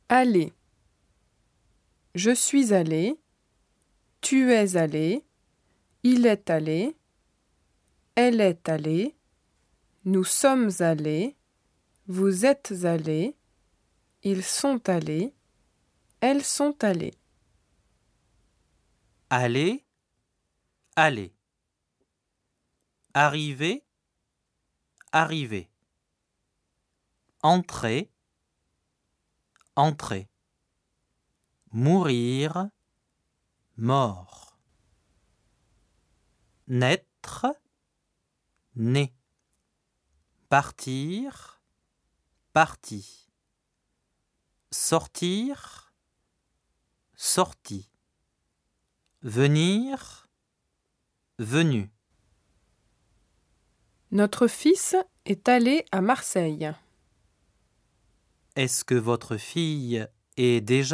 Aller. Je suis allé. Tu es allé. Il est allé. Elle est allée. Nous sommes allés. Vous êtes allés. Ils sont allés. Elles sont allées. Aller, aller. Arriver, arriver. Entrer, entrer. Mourir, mort. Naître, né. Partir, parti. Sortir, sorti. Venir, venu. Notre fils est allé à Marseille. Est-ce que votre fille est déjà partie ?